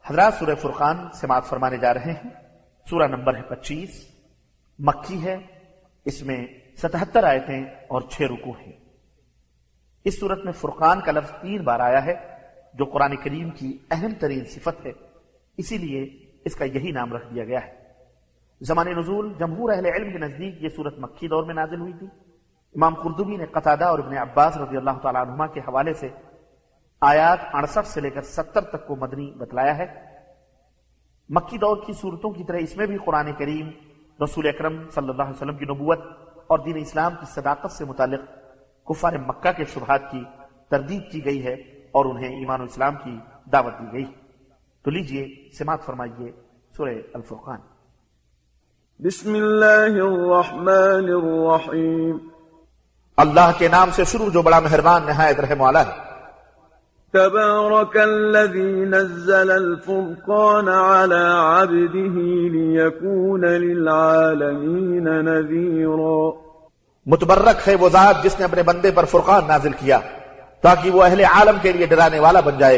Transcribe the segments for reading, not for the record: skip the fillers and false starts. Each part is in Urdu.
حضرات سورہ فرقان سماعت فرمانے جا رہے ہیں۔ سورہ نمبر ہے 25، مکی ہے، اس میں 77 آیتیں اور 6 رکوع ہیں۔ اس صورت میں فرقان کا لفظ 3 بار آیا ہے، جو قرآن کریم کی اہم ترین صفت ہے، اسی لیے اس کا یہی نام رکھ دیا گیا ہے۔ زمان نزول جمہور اہل علم کے نزدیک یہ صورت مکی دور میں نازل ہوئی تھی۔ امام قرطبی نے قتادہ اور ابن عباس رضی اللہ تعالیٰ عنہما کے حوالے سے آیات 68 سے لے کر 70 تک کو مدنی بتلایا ہے۔ مکی دور کی صورتوں کی طرح اس میں بھی قرآن کریم رسول اکرم صلی اللہ علیہ وسلم کی نبوت اور دین اسلام کی صداقت سے متعلق کفار مکہ کے شبہات کی تردید کی گئی ہے اور انہیں ایمان و اسلام کی دعوت دی گئی۔ تو لیجئے سماعت فرمائیے سورہ الفرقان۔ بسم اللہ الرحمن الرحیم۔ اللہ کے نام سے شروع جو بڑا مہربان نہایت رحم والا ہے۔ تبارک الذی نزل الفرقان على عبده ليكون للعالمین نذیرا۔ متبرک ہے وہ ذات جس نے اپنے بندے پر فرقان نازل کیا تاکہ وہ اہل عالم کے لیے ڈرانے والا بن جائے۔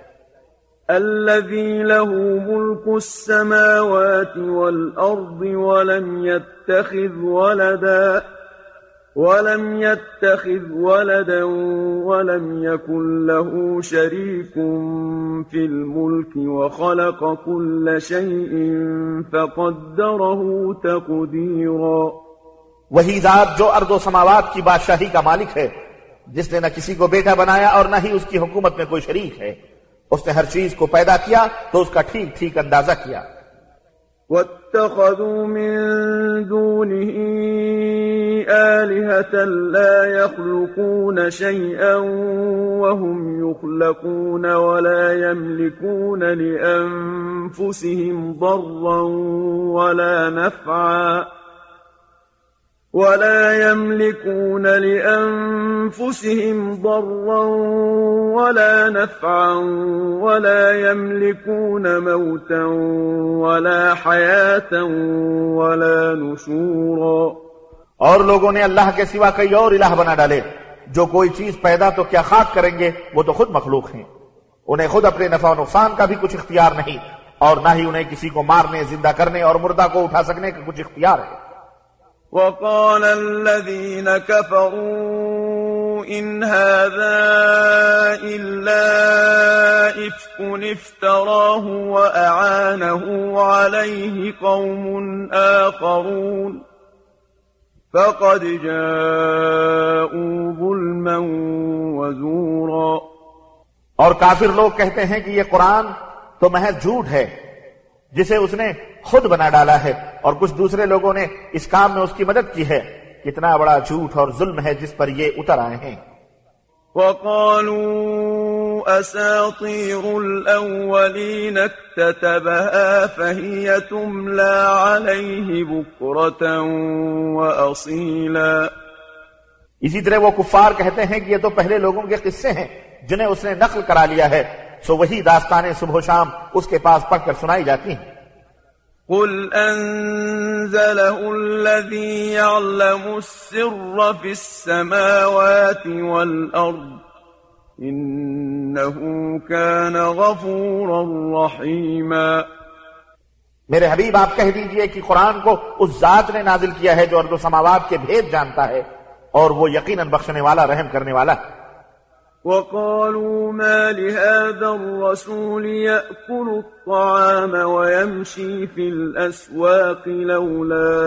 الذي له ملك السماوات والأرض ولم يتخذ ولدا ولم يكن له شريك في الملك وخلق كل شيء فقدره تقديرا۔ وہی ذات جو ارض و سماوات کی بادشاہی کا مالک ہے، جس نے نہ کسی کو بیٹا بنایا اور نہ ہی اس کی حکومت میں کوئی شریک ہے، اس نے ہر چیز کو پیدا کیا تو اس کا ٹھیک ٹھیک اندازہ کیا۔ واتخذوا من دونه آلهة لا يخلقون شيئا وهم يخلقون ولا يملكون لأنفسهم ضرا ولا نفعا ولا يملكون موتا ولا حياة ولا نشورا۔ اور لوگوں نے اللہ کے سوا کئی اور الہ بنا ڈالے، جو کوئی چیز پیدا تو کیا خاک کریں گے، وہ تو خود مخلوق ہیں، انہیں خود اپنے نفع و نقصان کا بھی کچھ اختیار نہیں، اور نہ ہی انہیں کسی کو مارنے، زندہ کرنے اور مردہ کو اٹھا سکنے کا کچھ اختیار ہے۔ وقال الذين كفروا إن هذا إلا إفك افتراه وأعانه عليه قوم آخرون فقد جاءوا ظلما وزورا۔ اور کافر لوگ کہتے ہیں کہ یہ قرآن تو محض جھوٹ ہے جسے اس نے خود بنا ڈالا ہے، اور کچھ دوسرے لوگوں نے اس کام میں اس کی مدد کی ہے۔ کتنا بڑا جھوٹ اور ظلم ہے جس پر یہ اتر آئے ہیں۔ وقالوا أساطير الأولين اكتتبها فهي تملى عليه بكرة وأصيلا۔ اسی طرح وہ کفار کہتے ہیں کہ یہ تو پہلے لوگوں کے قصے ہیں جنہیں اس نے نقل کرا لیا ہے، سو وہی داستانیں صبح و شام اس کے پاس پڑھ کر سنائی جاتی ہیں۔ قل أنزله الذي يعلم السر في السماوات والأرض إنه كان غفورا رحيما۔ میرے حبیب آپ کہہ دیجئے کہ قرآن کو اس ذات نے نازل کیا ہے جو ارض و سماوات کے بھید جانتا ہے، اور وہ یقیناً بخشنے والا، رحم کرنے والا ہے۔ وقالوا ما لهذا الرسول يأكل الطعام ويمشي في الأسواق لولا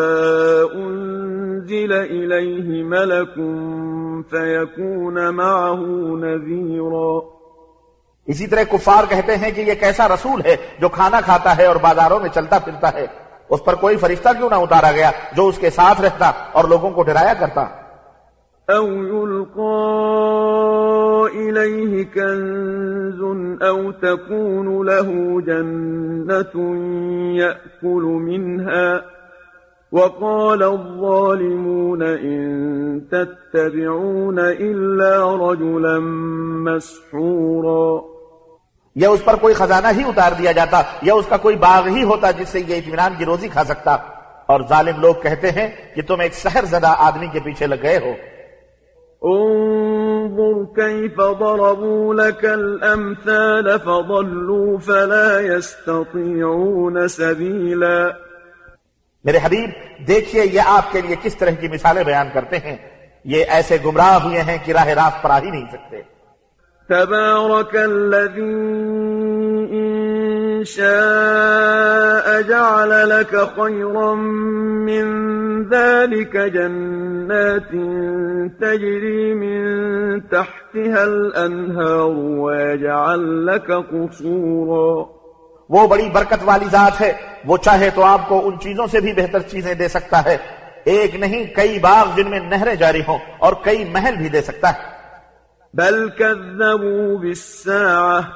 أنزل إليه ملك فيكون معه نذيرا۔ اسی طرح کفار کہتے ہیں کہ یہ کیسا رسول ہے جو کھانا کھاتا ہے اور بازاروں میں چلتا پھرتا ہے، اس پر کوئی فرشتہ کیوں نہ اتارا گیا جو اس کے ساتھ رہتا اور لوگوں کو ڈرایا کرتا۔ أو يلقى إليه كنز أو تكون له جنة يأكل منها وقال الظالمون إن تتبعون إلا رجلا مسحورا۔ یا اس پر کوئی خزانہ ہی اتار دیا جاتا، یا اس کا کوئی باغ ہی ہوتا جس سے یہ اطمینان کی روزی کھا سکتا، اور ظالم لوگ کہتے ہیں کہ تم ایک سحر زدہ آدمی کے پیچھے لگ گئے ہو۔ انظر كيف ضربوا لك الأمثال فضلوا فلا يستطيعون سبيلا. میرے حبیب دیکھیے یہ آپ کے لیے کس طرح کی مثالیں بیان کرتے ہیں، یہ ایسے گمراہ ہوئے ہیں کہ راہ راست پر آ ہی نہیں سکتے. تبارك الذي إن شاء جعل لك خيرا من ذلك جنات تجري من تحتها الأنهار ويجعل لك قصورا. وہ بڑی برکت والی ذات ہے، وہ چاہے تو آپ کو ان چیزوں سے بھی بہتر چیزیں دے سکتا ہے، ایک نہیں کئی باغ جن میں نہریں جاری ہوں، اور کئی محل بھی دے سکتا ہے. بل كذبوا بالساعة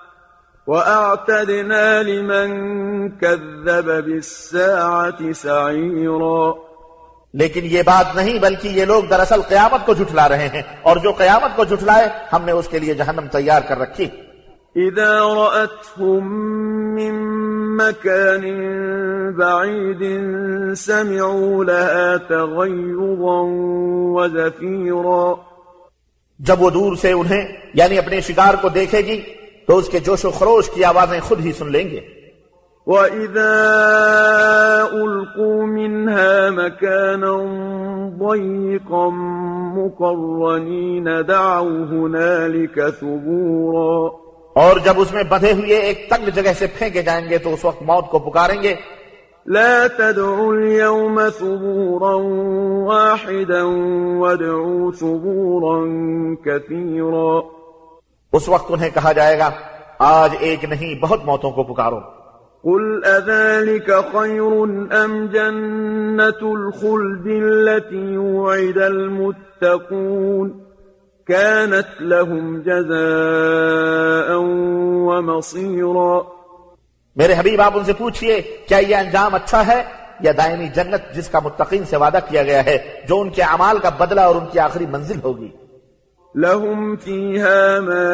وأعتدنا لمن كذب بالساعة سعيرا. لیکن یہ بات نہیں، بلکہ یہ لوگ دراصل قیامت کو جھٹلا رہے ہیں، اور جو قیامت کو جھٹلائے ہم نے اس کے لیے جہنم تیار کر رکھی. إذا رأتهم من مكان بعيد سمعوا لها تغيظا وزفيرا. جب وہ دور سے انہیں یعنی اپنے شکار کو دیکھے گی تو اس کے جوش و خروش کی آوازیں خود ہی سن لیں گے. وَإِذَا أُلْقُوا مِنْهَا مَكَانًا ضَيِّقًا مُقَرَّنِينَ دَعَوْا هُنَالِكَ ثُبُورًا. اور جب اس میں بندھے ہوئے ایک تنگ جگہ سے پھینکے جائیں گے تو اس وقت موت کو پکاریں گے. لا تدعوا اليوم ثبورا واحدا وادعوا ثبورا كثيرا. اس وقت انہیں کہا جائے گا آج ایک نہیں بہت موتوں کو پکارو. قل أذلك خير أم جنة الخلد التي وعد المتقون كانت لهم جزاء ومصيرا. میرے حبیب آپ ان سے پوچھئے کیا یہ انجام اچھا ہے یا دائمی جنت جس کا متقین سے وعدہ کیا گیا ہے، جو ان کے اعمال کا بدلہ اور ان کی آخری منزل ہوگی. لهم فيها ما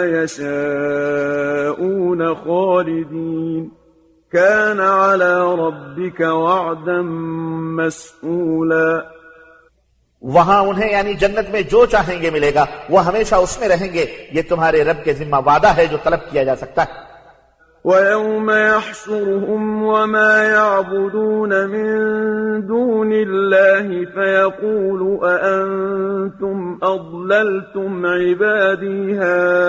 يشاءون خالدين كان على ربك وعدا مسئولا. وہاں انہیں یعنی جنت میں جو چاہیں گے ملے گا، وہ ہمیشہ اس میں رہیں گے، یہ تمہارے رب کے ذمہ وعدہ ہے جو طلب کیا جا سکتا ہے. وَيَوْمَ يَحْشُرُهُمْ وَمَا يَعْبُدُونَ مِن دُونِ اللَّهِ فَيَقُولُ أَأَنْتُمْ أَضْلَلْتُمْ عِبَادِي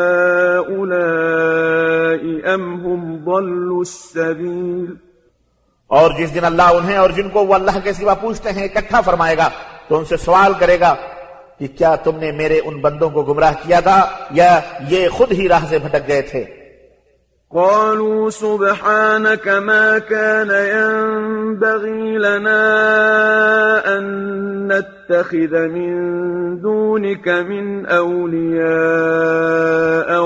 هَؤُلَاءِ أَمْ هُمْ ضَلُّوا السَّبِيلَ. اور جس دن اللہ انہیں اور جن کو وہ اللہ کے سوا پوچھتے ہیں اکٹھا فرمائے گا تو ان سے سوال کرے گا کہ کیا تم نے میرے ان بندوں کو گمراہ کیا تھا یا یہ خود ہی راہ سے بھٹک گئے تھے. قالوا سبحانك ما كان ينبغي لنا أن نتخذ من دونك من أولياء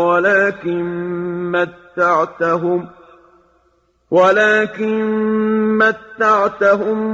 ولكن متعتهم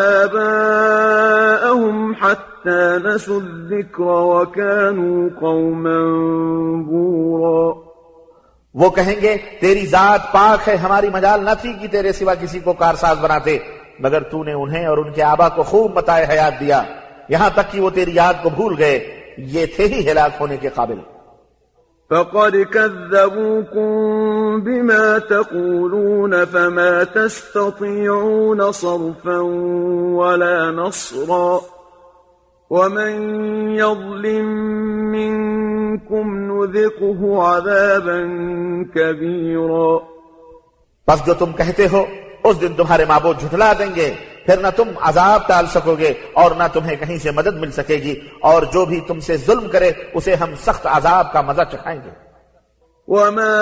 وآباءهم حتى نسوا الذكر وكانوا قوما بورا. وہ کہیں گے تیری ذات پاک ہے، ہماری مجال نہ تھی کہ تیرے سوا کسی کو کارساز بناتے، مگر تو نے انہیں اور ان کے آبا کو خوب متاع حیات دیا، یہاں تک کہ وہ تیری یاد کو بھول گئے، یہ تھے ہی ہلاک ہونے کے قابل. فقد كذبوكم بما تقولون فما تستطيعون صرفا ولا نصرا ومن يظلم منكم نذقه عذابا كبيرا. بس جو تم کہتے ہو اس دن تمہارے معبود جھٹلا دیں گے، پھر نہ تم عذاب ٹال سکو گے اور نہ تمہیں کہیں سے مدد مل سکے گی، اور جو بھی تم سے ظلم کرے اسے ہم سخت عذاب کا مزہ چکھائیں گے. وما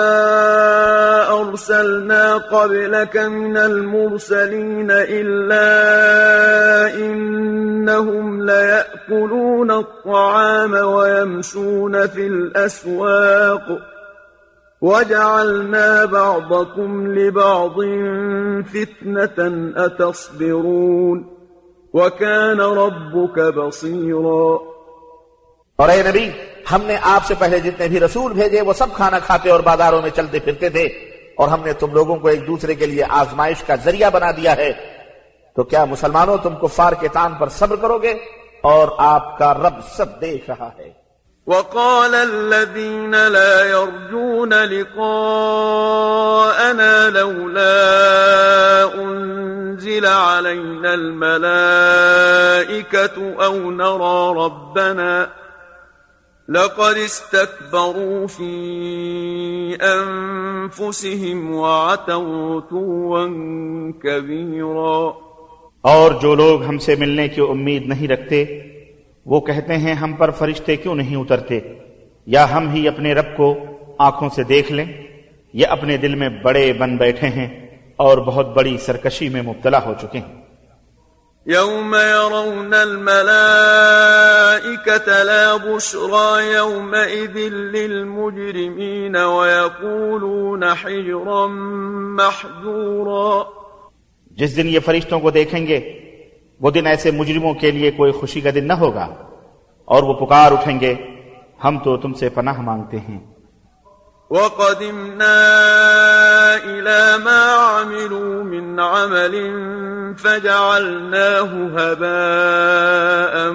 أرسلنا قبلك من المرسلين إلا إنهم ليأكلون الطعام ويمشون في الأسواق وجعلنا بعضكم لبعض فتنة أتصبرون وكان ربك بصيرا. اور اے نبی ہم نے آپ سے پہلے جتنے بھی رسول بھیجے وہ سب کھانا کھاتے اور بازاروں میں چلتے پھرتے تھے، اور ہم نے تم لوگوں کو ایک دوسرے کے لیے آزمائش کا ذریعہ بنا دیا ہے، تو کیا مسلمانوں تم کفار کے تان پر صبر کرو گے؟ اور آپ کا رب سب دیکھ رہا ہے. وقال الذين لا يرجون لقاءنا لولا أنزل علينا الملائكة أو نرى ربنا لقد استكبروا في أنفسهم وعتوا عتوا كبيرا۔ اور جو لوگ ہم سے ملنے کی امید نہیں رکھتے وہ کہتے ہیں ہم پر فرشتے کیوں نہیں اترتے، یا ہم ہی اپنے رب کو آنکھوں سے دیکھ لیں، یا اپنے دل میں بڑے بن بیٹھے ہیں اور بہت بڑی سرکشی میں مبتلا ہو چکے ہیں۔ يوم يرون الملائكة لا بشرى يومئذ للمجرمين ويقولون حجرا محجورا۔ جس دن یہ فرشتوں کو دیکھیں گے وہ دن ایسے مجرموں کے لیے کوئی خوشی کا دن نہ ہوگا، اور وہ پکار اٹھیں گے ہم تو تم سے پناہ مانگتے ہیں۔ وَقَدِمْنَا إِلَى مَا عَمِلُوا مِنْ عَمَلٍ فَجَعَلْنَاهُ هَبَاءً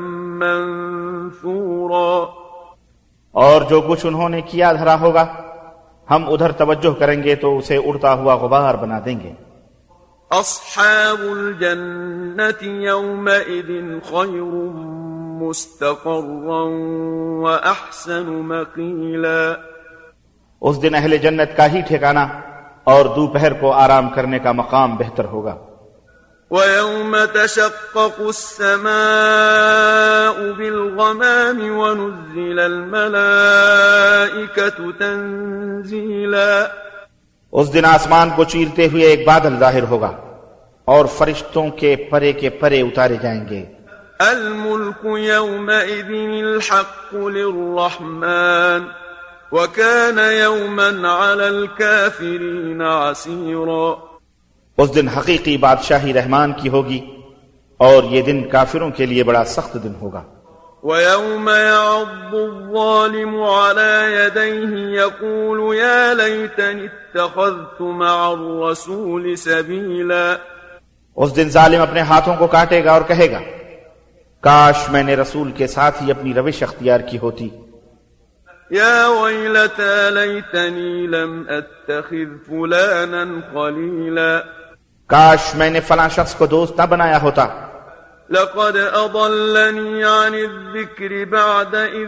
مَنْثُورًا۔ اور جو کچھ انہوں نے کیا دھرا ہوگا ہم ادھر توجہ کریں گے تو اسے اڑتا ہوا غبار بنا دیں گے۔ أصحاب الجنة يومئذ خير مستقرا وأحسن مقيلا۔ اس دن اہل جنت کا ہی ٹھکانہ اور دوپہر کو آرام کرنے کا مقام بہتر ہوگا۔ وَيَوْمَ تَشَقَّقُ السَّمَاءُ بِالْغَمَامِ وَنُزِّلَ الْمَلَائِكَةُ تَنزِيلًا۔ اس دن آسمان کو چیرتے ہوئے ایک بادل ظاہر ہوگا اور فرشتوں کے پرے اتارے جائیں گے۔ الملك يومئذ الحق للرحمن وكان يوما على الكافرين عسيرا۔ اس دن حقیقی بادشاہی رحمان کی ہوگی اور یہ دن کافروں کے لیے بڑا سخت دن ہوگا۔ وَيَوْمَ يَعَضُّ الظَّالِمُ عَلَى يَدَيْهِ يَقُولُ يَا لَيْتَنِي اتَّخَذْتُ مَعَ الرَّسُولِ سَبِيلًا۔ اس دن ظالم اپنے ہاتھوں کو کاٹے گا اور کہے گا کاش میں نے رسول کے ساتھ ہی اپنی روش اختیار کی ہوتی۔ يَا وَيْلَتَى لَيْتَنِي لَمْ أَتَّخِذْ فُلَانًا خَلِيلًا۔ کاش میں نے فلاں شخص کو دوست نہ بنایا ہوتا۔ لقد أضلني عن الذكر بعد إذ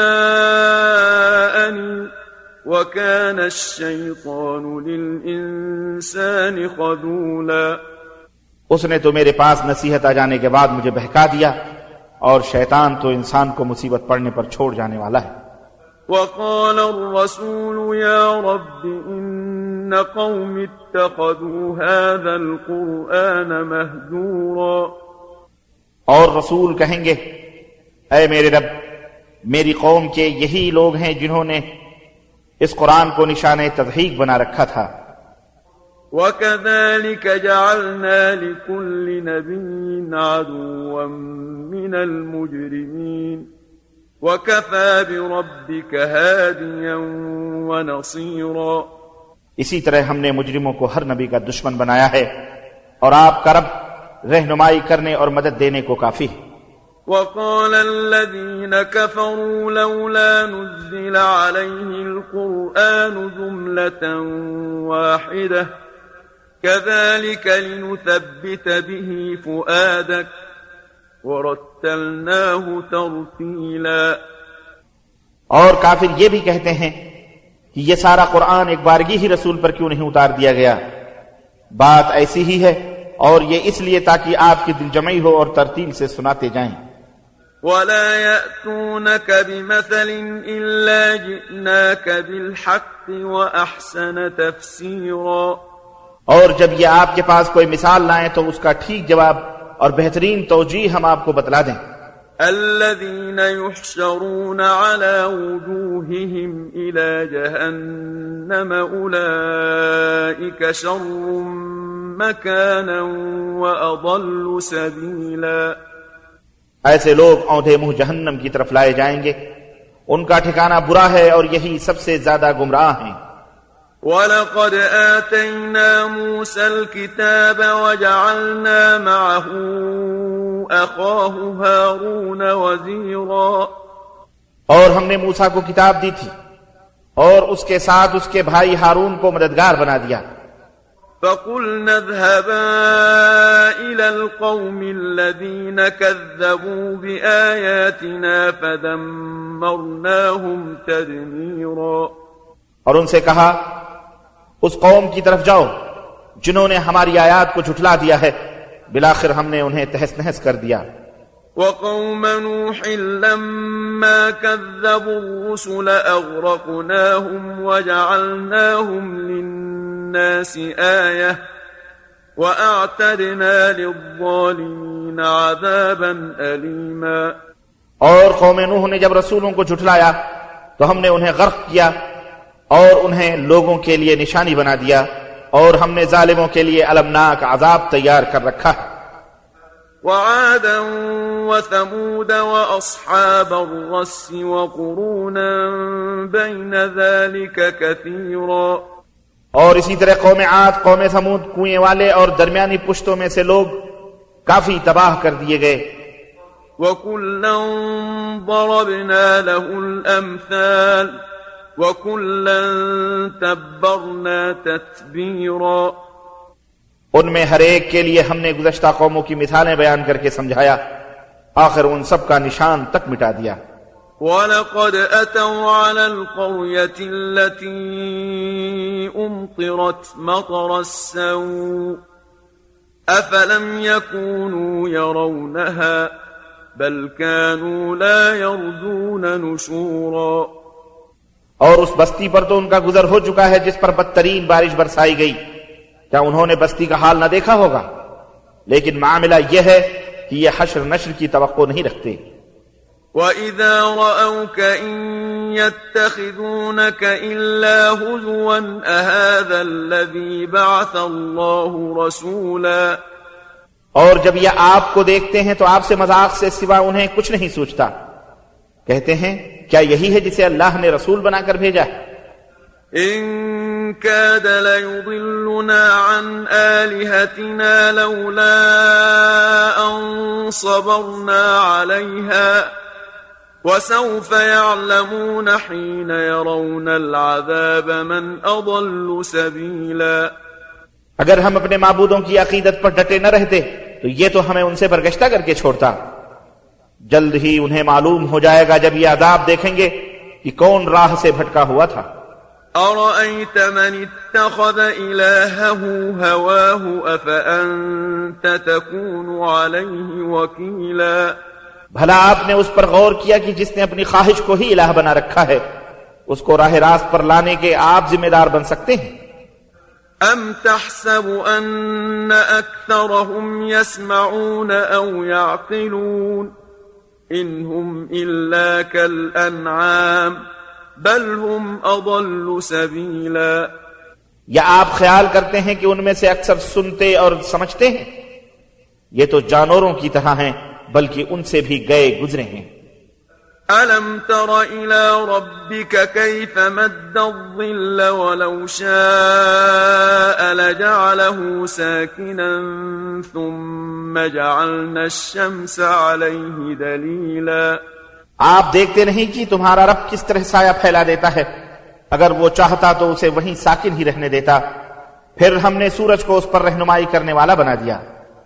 جاءني وكان الشيطان للإنسان خذولا۔ اس نے تو میرے پاس نصیحت آ جانے کے بعد مجھے بہکا دیا، اور شیطان تو انسان کو مصیبت پڑنے پر چھوڑ جانے والا ہے۔ وقال الرسول يا رب إن قوم اتخذوا هذا القرآن مهجورا۔ اور رسول کہیں گے اے میرے رب میری قوم کے یہی لوگ ہیں جنہوں نے اس قرآن کو نشان تضحیک بنا رکھا تھا۔ وَكَذَلِكَ جَعَلْنَا لِكُلِّ نَبِيٍّ عَدُوًّا مِّنَ الْمُجْرِمِينَ وَكَفَى بِرَبِّكَ هَادِيًا وَنَصِيرًا۔ اسی طرح ہم نے مجرموں کو ہر نبی کا دشمن بنایا ہے، اور آپ کا رب رہنمائی کرنے اور مدد دینے کو کافی ہے۔ وقال الذين كفروا لولا نزل عليه القرآن جملة واحدة كذلك لنثبت به فؤادك ورتلناه ترتيلا۔ اور کافر یہ بھی کہتے ہیں کہ یہ سارا قرآن ایک بارگی ہی رسول پر کیوں نہیں اتار دیا گیا؟ بات ایسی ہی ہے، اور یہ اس لیے تاکہ آپ کی دل جمعی ہو اور ترتیل سے سناتے جائیں۔ وَلَا يَأْتُونَكَ بِمَثَلٍ إِلَّا جِئْنَاكَ بِالْحَقِّ وَأَحْسَنَ تَفْسِيرًا۔ اور جب یہ آپ کے پاس کوئی مثال لائیں تو اس کا ٹھیک جواب اور بہترین توجیہ ہم آپ کو بتلا دیں۔ الذين يحشرون على وجوههم إلى جهنم أولئك شر مكانا وأضل سبيلا۔ ایسے لوگ اونڈے منہ جہنم کی طرف لائے جائیں گے، ان کا ٹھکانہ برا ہے اور یہی سب سے زیادہ گمراہ ہیں۔ وَلَقَدْ آتَيْنَا مُوسَى الْكِتَابَ وَجَعَلْنَا مَعَهُ أَخَاهُ هَارُونَ وَزِيرًا۔ اور ہم نے موسیٰ کو کتاب دی تھی اور اس کے ساتھ اس کے بھائی ہارون کو مددگار بنا دیا. فَقُلْنَا اذْهَبَا إِلَى الْقَوْمِ الَّذِينَ كَذَّبُوا بِآيَاتِنَا فَدَمَّرْنَاهُمْ تَدْمِيرًا. اور ان سے کہا اس قوم کی طرف جاؤ جنہوں نے ہماری آیات کو جھٹلا دیا ہے، بالآخر ہم نے انہیں تہس نہس کر دیا. وقوم نوح لما كذبوا الرسل أغرقناهم وجعلناهم للناس آية وأعتدنا للظالمين عذابا أليما. اور قوم نوح نے جب رسولوں کو جھٹلایا تو ہم نے انہیں غرق کیا اور انہیں لوگوں کے لیے نشانی بنا دیا، اور ہم نے ظالموں کے لیے المناک عذاب تیار کر رکھا ہے. وعادا وثمود وأصحاب الرس وقرونا بين ذلك كثيرا. اور اسی طرح قوم عاد، قوم ثمود، کنویں والے اور درمیانی پشتوں میں سے لوگ کافی تباہ کر دیے گئے. وكلا ضربنا له الأمثال وكلا تبرنا تتبیرا. ان میں ہر ایک کے لیے ہم نے گزشتہ قوموں کی مثالیں بیان کر کے سمجھایا، آخر ان سب کا نشان تک مٹا دیا. وَلَقَدْ أَتَوْا عَلَى الْقَرْيَةِ الَّتِي أُمْطِرَتْ مَطَرَ السَّوْءِ أَفَلَمْ يَكُونُوا يَرَوْنَهَا بَلْ كَانُوا لَا يَرْجُونَ نُشُورًا. اور اس بستی پر تو ان کا گزر ہو چکا ہے جس پر بدترین بارش برسائی گئی، کیا انہوں نے بستی کا حال نہ دیکھا ہوگا؟ لیکن معاملہ یہ ہے کہ یہ حشر نشر کی توقع نہیں رکھتے. وَإِذَا رَأَوْكَ إِن يَتَّخِذُونَكَ إِلَّا هُزُوًا أَهَذَا الَّذِي بَعَثَ اللَّهُ رَسُولًا. اور جب یہ آپ کو دیکھتے ہیں تو آپ سے مذاق سے سوا انہیں کچھ نہیں سوچتا، کہتے ہیں کیا یہی ہے جسے اللہ نے رسول بنا کر بھیجا ہے؟ إن كاد ليضلنا عن آلهتنا لولا أن صبرنا عليها وسوف يعلمون حين يرون العذاب من أضل سبيلا. اگر ہم اپنے معبودوں کی عقیدت پر ڈٹے نہ رہتے تو یہ تو ہمیں ان سے برگشتہ کر کے چھوڑتا. جلد ہی انہیں معلوم ہو جائے گا جب یہ عذاب دیکھیں گے کہ کون راہ سے بھٹکا ہوا تھا. أرأيت من اتخذ إلهه هواه أفأنت تكون عليه وكيلا. بھلا آپ نے اس پر غور کیا کہ جس نے اپنی خواہش کو ہی الہ بنا رکھا ہے، اس کو راہ راست پر لانے کے آپ ذمہ دار بن سکتے ہیں؟ أم تحسب أن أكثرهم يسمعون أو يعقلون إن هم إلا كالأنعام بل هم أضل سبيلا. یا آپ خیال کرتے ہیں کہ ان میں سے اکثر سنتے اور سمجھتے ہیں؟ یہ تو جانوروں کی طرح ہیں، بلکہ ان سے بھی گئے گزرے ہیں. ألم تر إلى ربك كيف مد الظل ولو شاء لجعله ساكنا ثم جعلنا الشمس عليه دليلا. آپ دیکھتے نہیں کہ تمہارا رب کس طرح سایہ پھیلا دیتا ہے، اگر وہ چاہتا تو اسے وہیں ساکن ہی رہنے دیتا، پھر ہم نے سورج کو اس پر رہنمائی کرنے والا بنا دیا.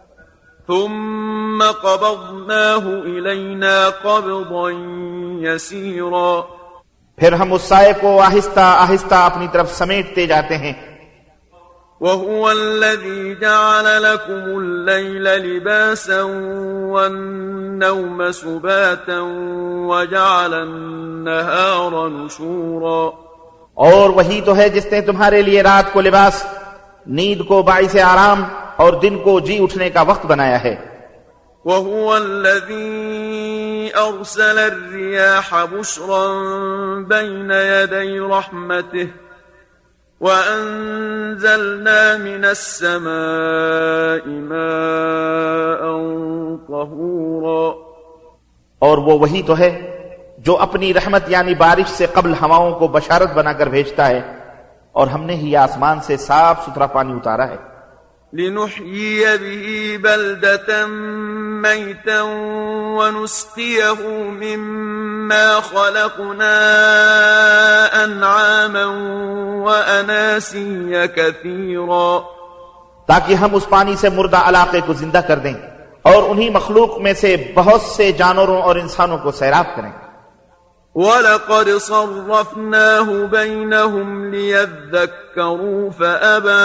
ثم قبضناه إلينا قبضا يسيرا. پھر ہم اس سائے کو آہستہ آہستہ اپنی طرف سمیٹتے جاتے ہیں. وهو الذي جعل لكم الليل لباسا والنوم سباتا وجعل النهار نشورا. اور وہی تو ہے جس نے تمہارے لیے رات کو لباس، نیند کو باعث آرام اور دن کو جی اٹھنے کا وقت بنایا ہے. وهو الذي أرسل الرياح بشرا بين يدي رحمته وأنزلنا من السماء ماء طهورا. اور وہ وہی تو ہے جو اپنی رحمت یعنی بارش سے قبل ہواؤں کو بشارت بنا کر بھیجتا ہے، اور ہم نے ہی آسمان سے صاف ستھرا پانی اتارا ہے. لنحيي به بلدة ميتا ونسقيه مما خلقنا أنعاما وأناسيا كثيرا، تاکہ ہم اس پانی سے مردہ علاقے کو زندہ کر دیں اور انہی مخلوق میں سے بہت سے جانوروں اور انسانوں کو سیراب کریں۔ وَلَقَدْ صَرَّفْنَاهُ بَيْنَهُمْ لِيَذَّكَّرُوا فَأَبَى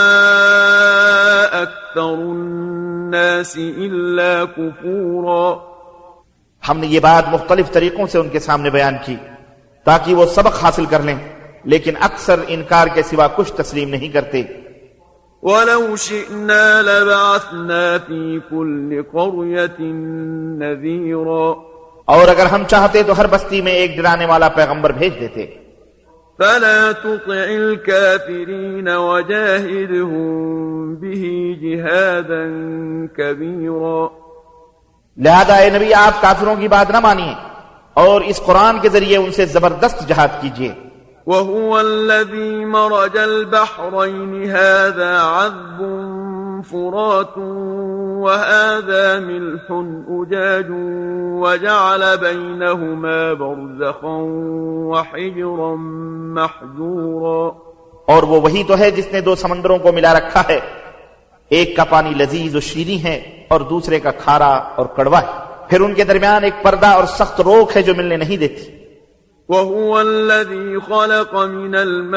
أَكْثَرُ النَّاسِ إِلَّا كُفُورًا۔ ہم نے یہ بات مختلف طریقوں سے ان کے سامنے بیان کی تاکہ وہ سبق حاصل کر لیں، لیکن اکثر انکار کے سوا کچھ تسلیم نہیں کرتے۔ وَلَوْ شِئْنَا لَبَعَثْنَا فِي كُلِّ قَرْيَةٍ نَذِيرًا، اور اگر ہم چاہتے تو ہر بستی میں ایک ڈرانے والا پیغمبر بھیج دیتے۔ فَلَا تُطِعِ الْكَافِرِينَ وَجَاهِدْهُم بِهِ جِهَادًا كَبِيرًا۔ لہذا اے نبی آپ کافروں کی بات نہ مانیے اور اس قرآن کے ذریعے ان سے زبردست جہاد کیجیے۔ وَهُوَ الَّذِي مَرَجَ الْبَحْرَيْنِ هَذَا عَذْبٌ فُرَاتٌ وَهَذَا مِلْحٌ أُجَاجٌ وَجَعَلَ بَيْنَهُمَا بَرْزَخًا وَحِجْرًا مَحْجُورًا۔ اور وہ وہی تو ہے جس نے دو سمندروں کو ملا رکھا ہے، ایک کا پانی لذیذ و شیریں ہے اور دوسرے کا کھارا اور کڑوا ہے، پھر ان کے درمیان ایک پردہ اور سخت روک ہے جو ملنے نہیں دیتی۔ وَهُوَ الَّذِي خَلَقَ مِنَ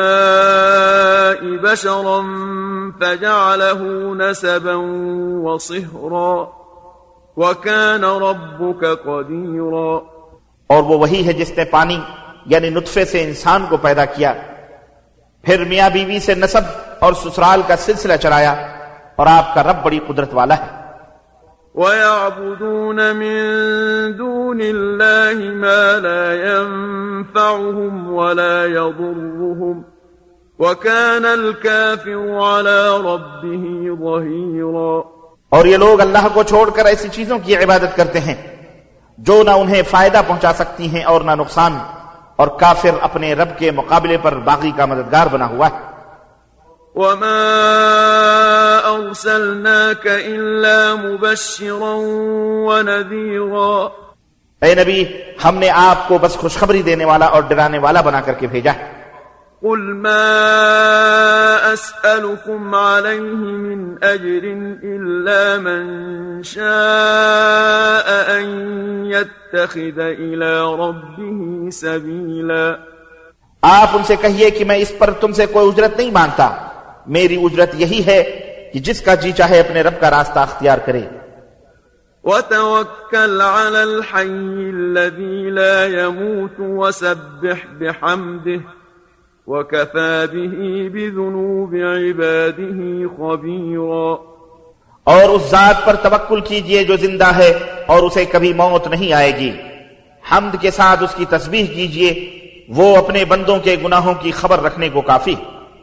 الْمَاءِ بَشَرًا فَجَعَلَهُ نَسَبًا وَصِهْرًا وَكَانَ رَبُّكَ قَدِيرًا۔ اور وہ وہی ہے جس نے پانی یعنی نطفے سے انسان کو پیدا کیا، پھر میاں بیوی سے نسب اور سسرال کا سلسلہ چلایا، اور آپ کا رب بڑی قدرت والا ہے۔ وَيَعْبُدُونَ مِن دُونِ اللَّهِ مَا لَا يَنفَعُهُمْ وَلَا يَضُرُّهُمْ وَكَانَ الْكَافِرُ عَلَى رَبِّهِ ظَهِيرًا۔ اور یہ لوگ اللہ کو چھوڑ کر ایسی چیزوں کی عبادت کرتے ہیں جو نہ انہیں فائدہ پہنچا سکتی ہیں اور نہ نقصان، اور کافر اپنے رب کے مقابلے پر باغی کا مددگار بنا ہوا ہے۔ وَمَا أَرْسَلْنَاكَ إِلَّا مُبَشِّرًا وَنَذِيرًا۔ اے نبی ہم نے آپ کو بس خوشخبری دینے والا اور ڈرانے والا بنا کر کے بھیجا ہے۔ قُلْ مَا أَسْأَلُكُمْ عَلَيْهِ مِنْ أَجْرٍ إِلَّا مَنْ شَاءَ أَنْ يَتَّخِذَ إِلَى رَبِّهِ سَبِيلًا۔ آپ ان سے کہیے کہ میں اس پر تم سے کوئی اجرت نہیں مانگتا، میری اجرت یہی ہے کہ جس کا جی چاہے اپنے رب کا راستہ اختیار کرے۔ وَتَوَكَّلْ عَلَى الْحَيِّ الَّذِي لَا يَمُوتُ وَسَبِّحْ بِحَمْدِهِ وَكَفَى بِهِ بِذُنُوبِ عِبَادِهِ خَبِيرًا۔ اور اس ذات پر توکل کیجئے جو زندہ ہے اور اسے کبھی موت نہیں آئے گی، حمد کے ساتھ اس کی تسبیح کیجئے، وہ اپنے بندوں کے گناہوں کی خبر رکھنے کو کافی۔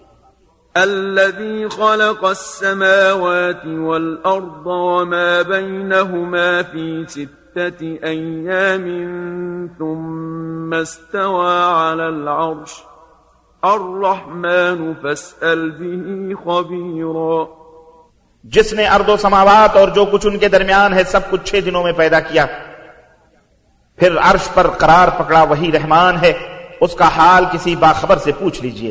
الذي خلق السماوات والأرض وما بينهما في 6 أيام ثم استوى على العرش الرحمن فاسأل به خبيرا۔ جس نے ارض و سماوات اور جو کچھ ان کے درمیان ہے سب کچھ 6 دنوں میں پیدا کیا، پھر عرش پر قرار پکڑا، وہی رحمان ہے، اس کا حال کسی باخبر سے پوچھ لیجئے۔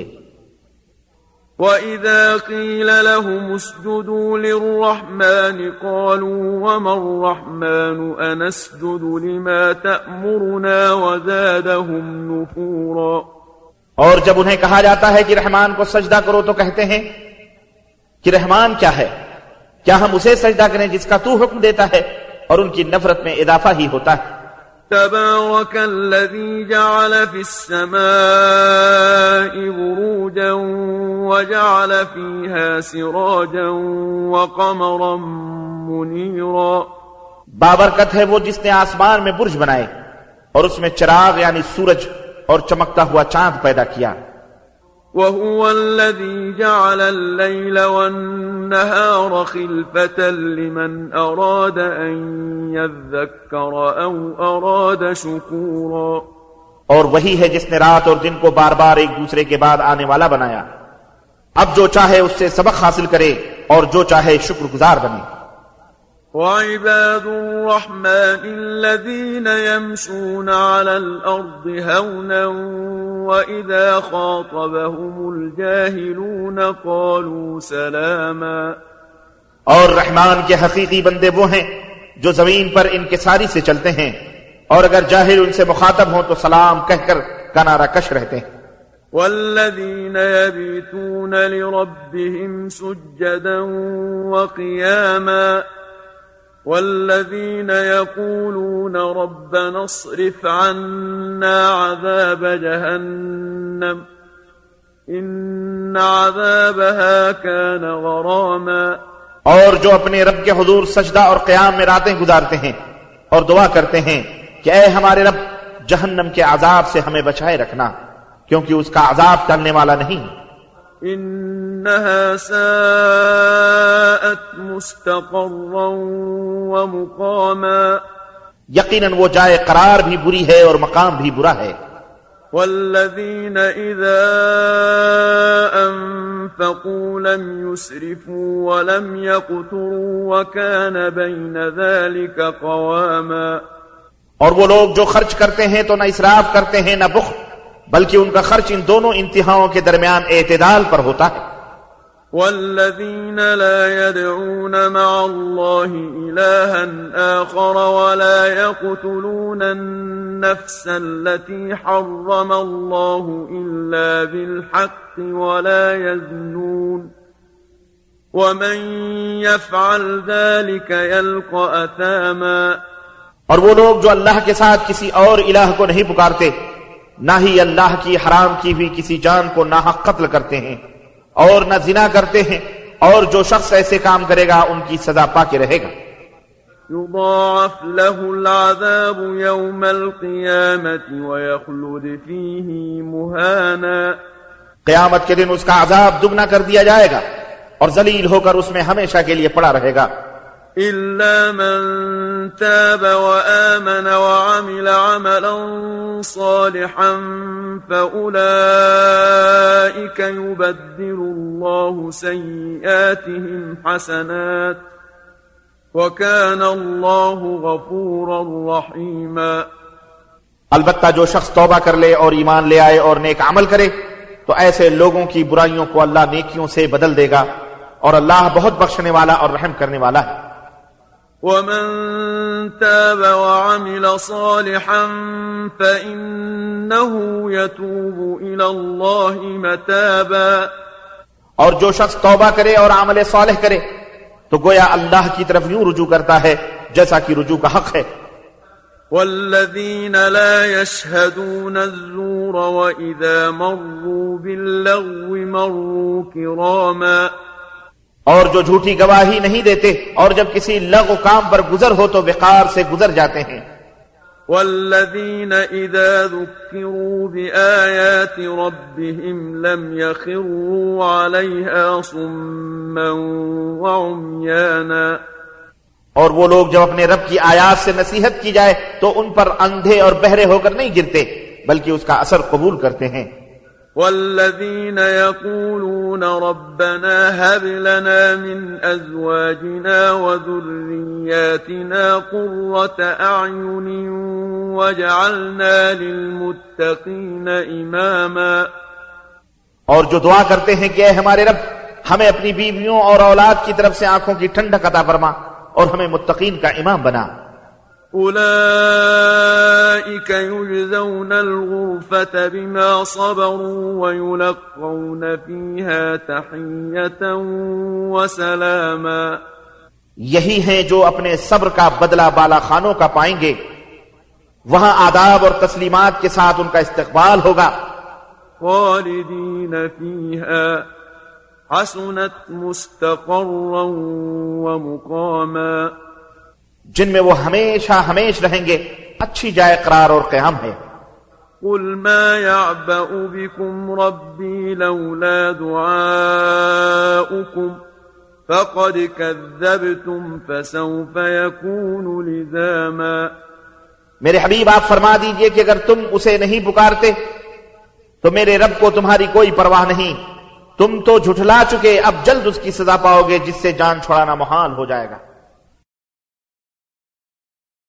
وَإِذَا قِيلَ لَهُمُ اسْجُدُوا لِلرَّحْمَنِ قَالُوا وَمَا الرَّحْمَنُ أَنَسْجُدُ لِمَا تَأْمُرُنَا وَزَادَهُمْ نُفُورًا۔ اور جب انہیں کہا جاتا ہے کہ رحمان کو سجدہ کرو تو کہتے ہیں کہ رحمان کیا ہے، کیا ہم اسے سجدہ کریں جس کا تو حکم دیتا ہے، اور ان کی نفرت میں اضافہ ہی ہوتا ہے۔ تبارك الذي جعل في السماء بروجا وجعل فيها سراجا وقمرا منيرا۔ بابرکت ہے وہ جس نے آسمان میں برج بنائے اور اس میں چراغ یعنی سورج اور چمکتا ہوا چاند پیدا کیا۔ وهو الذي جعل الليل والنهار خلفة لمن أراد أن يذكر أو أراد شكورا۔ اور وہی ہے جس نے رات اور دن کو بار بار ایک دوسرے کے بعد آنے والا بنایا، اب جو چاہے اس سے سبق حاصل کرے اور جو چاہے شکر گزار بنے۔ وعباد الرحمن الذين يمشون على الأرض هونا وإذا خاطبهم الجاهلون قالوا سلاما۔ اور رحمان کے حقیقی بندے وہ ہیں جو زمین پر انکساری سے چلتے ہیں، اور اگر جاہل ان سے مخاطب ہوں تو سلام کہہ کر کنارہ کش رہتے ہیں۔ والذين يبيتون لربهم سجدا وقياما والذين يقولون ربنا اصرف عنا عذاب جهنم إن عذابها كان غراما۔ اور جو اپنے رب کے حضور سجدہ اور قیام میں راتیں گزارتے ہیں اور دعا کرتے ہیں کہ اے ہمارے رب جہنم کے عذاب سے ہمیں بچائے رکھنا، کیونکہ اس کا عذاب ٹلنے والا نہیں۔ انها ساءت مستقرا ومقاما، یقیناً وہ جائے قرار بھی بری ہے اور مقام بھی برا ہے۔ والذين إذا أنفقوا لم يسرفوا ولم يقتروا وكان بين ذلك قواما، اور وہ لوگ جو خرچ کرتے ہیں تو نہ اسراف کرتے ہیں نہ بخل، بلکہ ان کا خرچ ان دونوں انتہاؤں کے درمیان اعتدال پر ہوتا ہے۔ والذين لا يدعون مع الله إلها آخر ولا يقتلون النفس التي حرم الله إلا بالحق ولا يزنون ومن يفعل ذلك يلقى أثاما۔ اور وہ لوگ جو اللہ کے ساتھ کسی اور الہ کو نہیں پکارتے، نہ ہی اللہ کی حرام کی ہوئی کسی جان کو ناحق قتل کرتے ہیں، اور نہ زنا کرتے ہیں، اور جو شخص ایسے کام کرے گا ان کی سزا پا کے رہے گا۔ يضاعف له العذاب يوم القيامة ويخلد فيه مهانا، قیامت کے دن اس کا عذاب دگنا کر دیا جائے گا اور ذلیل ہو کر اس میں ہمیشہ کے لیے پڑا رہے گا۔ إلا من تاب وآمن وعمل عملا صالحا فأولئك يبدل الله سيئاتهم حسنات وكان الله غفورا رحيما۔ البتہ جو شخص توبہ کر لے اور ایمان لے آئے اور نیک عمل کرے تو ایسے لوگوں کی برائیوں کو اللہ نیکیوں سے بدل دے گا، اور اللہ بہت بخشنے والا اور رحم کرنے والا ہے۔ ومن تاب وعمل صالحا فإنه يتوب إلى الله متابا، اور جو شخص توبہ کرے اور عمل صالح کرے تو گویا اللہ کی طرف یوں رجوع کرتا ہے جیسا کہ رجوع کا حق ہے۔ والذين لا يشهدون الزور وإذا مروا باللغو مروا كراما، اور جو جھوٹی گواہی نہیں دیتے اور جب کسی لغو کام پر گزر ہو تو وقار سے گزر جاتے ہیں۔ والذين إذا ذكروا بآيات ربهم لم يخروا عليها صما وعميانا، اور وہ لوگ جب اپنے رب کی آیات سے نصیحت کی جائے تو ان پر اندھے اور بہرے ہو کر نہیں گرتے بلکہ اس کا اثر قبول کرتے ہیں۔ والذين يقولون ربنا هب لنا من أزواجنا وذرياتنا قرة أعين واجعلنا للمتقين إماما، اور جو دعا کرتے ہیں کہ اے ہمارے رب ہمیں اپنی بیویوں اور اولاد کی طرف سے آنکھوں کی ٹھنڈک عطا فرما اور ہمیں متقین کا امام بنا۔ أولئك يجزون الغرفة بما صبروا ويلقون فيها تحية وسلاما، یہی ہیں جو اپنے صبر کا بدلہ بالا خانوں کا پائیں گے، وہاں آداب اور تسلیمات کے ساتھ ان کا استقبال ہوگا۔ خالدين فيها حسنت مستقرا ومقاما، جن میں وہ ہمیشہ ہمیش رہیں گے، اچھی جائے قرار اور قیام ہے۔ قل ما يعبأ بكم ربي لولا دعاؤكم فقد كذبتم فسوف يكون لزاما، میرے حبیب آپ فرما دیجئے کہ اگر تم اسے نہیں پکارتے تو میرے رب کو تمہاری کوئی پرواہ نہیں، تم تو جھٹلا چکے، اب جلد اس کی سزا پاؤ گے جس سے جان چھڑانا محال ہو جائے گا۔